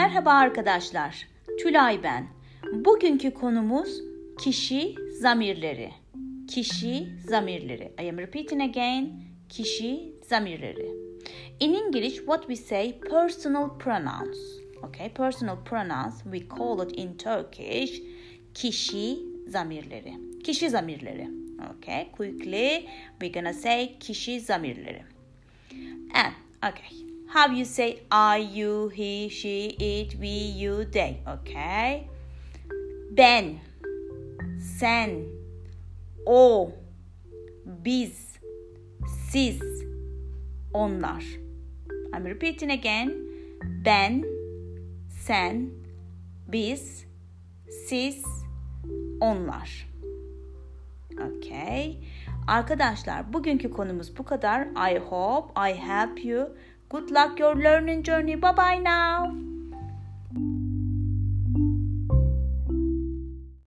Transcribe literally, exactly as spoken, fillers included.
Merhaba arkadaşlar, Tülay ben. Bugünkü konumuz kişi zamirleri. Kişi zamirleri. I am repeating again, kişi zamirleri. In English, what we say personal pronouns. Okay, personal pronouns, we call it in Turkish, kişi zamirleri. Kişi zamirleri. Okay, quickly, we're gonna say kişi zamirleri. And, okay, how you say I, you, he, she, it, we, you, they. Okay. Ben, sen, o, biz, siz, onlar. I'm repeating again. Ben, sen, biz, siz, onlar. Okay. Arkadaşlar, bugünkü konumuz bu kadar. I hope I help you. Good luck your learning journey. Bye bye now.